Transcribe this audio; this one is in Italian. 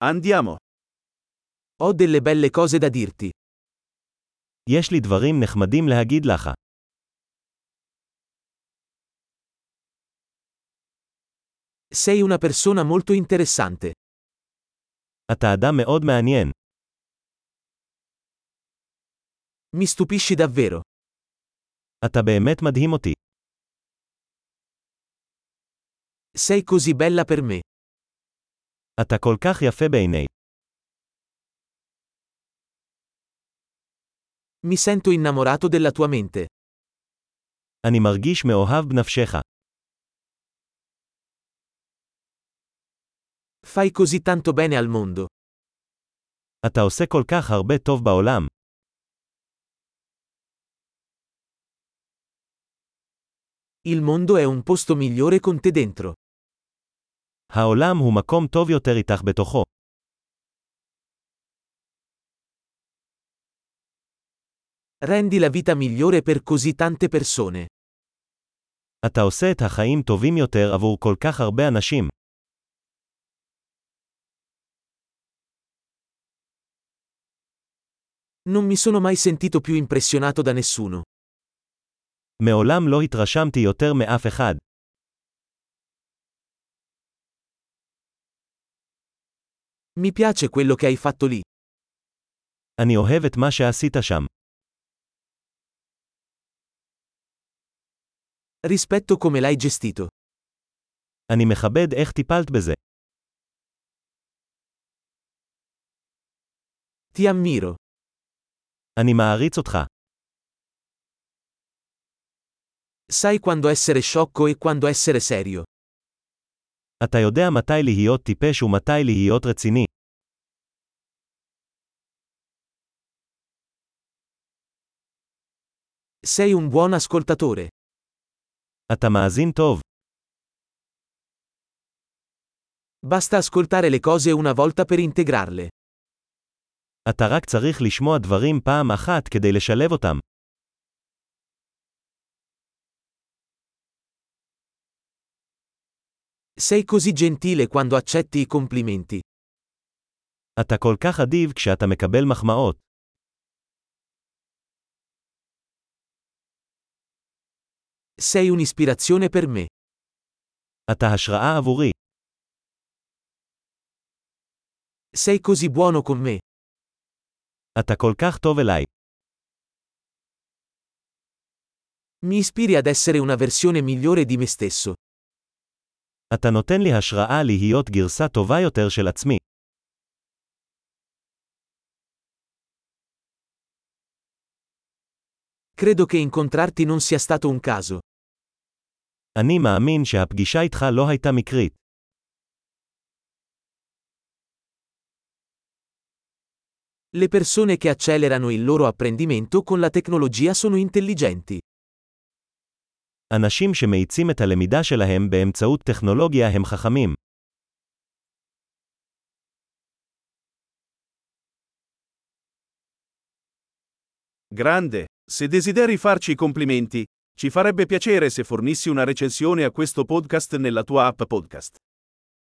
Andiamo. Ho delle belle cose da dirti. יש לי דברים נחמדים להגיד לך. Sei una persona molto interessante. אתה אדם מאוד מעניין. Mi stupisci davvero. אתה באמת מדהים אותי. Sei così bella per me. אתה כל כך יפה בעיני. Mi sento innamorato della tua mente. אני מרגיש מאוהב בנפשך. Fai così tanto bene al mondo. אתה עושה כל כך הרבה טוב בעולם. Il mondo è un posto migliore con te dentro. העולם הוא מקום טוב יותר איתך בתוכו. Rendi la vita migliore per così tante persone. אתה עושה את החיים טובים יותר עבור כל כך הרבה אנשים. Non mi sono mai sentito più impressionato da nessuno. מעולם לא התרשמתי יותר מאף אחד. Mi piace quello che hai fatto lì. אני אוהב את מה שעשית שם. Rispetto come l'hai gestito. אני מכבד איך טיפלת בזה. Ti ammiro. אני מעריץ אותך. Sai quando essere sciocco e quando essere serio. אתה יודע מתי להיות טיפש ומתי להיות רציני. Sei un buon ascoltatore. אתה מאזין טוב. Basta ascoltare le cose una volta per integrarle. אתה רק צריך לשמוע דברים פעם אחת כדי לשלב אותם. Sei così gentile quando accetti i complimenti. אתה כל כך אדיב כשאתה מקבל מחמאות. Sei un'ispirazione per me. אתה השראה עבורי. Sei così buono con me. אתה כל כך טוב אליי. Mi ispiri ad essere una versione migliore di me stesso. אתה נותן לי השראה להיות גרסה טובה יותר של עצמי. Credo che incontrarti non sia stato un caso. אני מאמין שהפגישה איתך לא הייתה מקרית. Le persone che accelerano il loro apprendimento con la tecnologia sono intelligenti. אנשים שמאיצים את הלמידה שלהם באמצעות טכנולוגיה הם חכמים. Grande. Se desideri farci i complimenti, ci farebbe piacere se fornissi una recensione a questo podcast nella tua app podcast.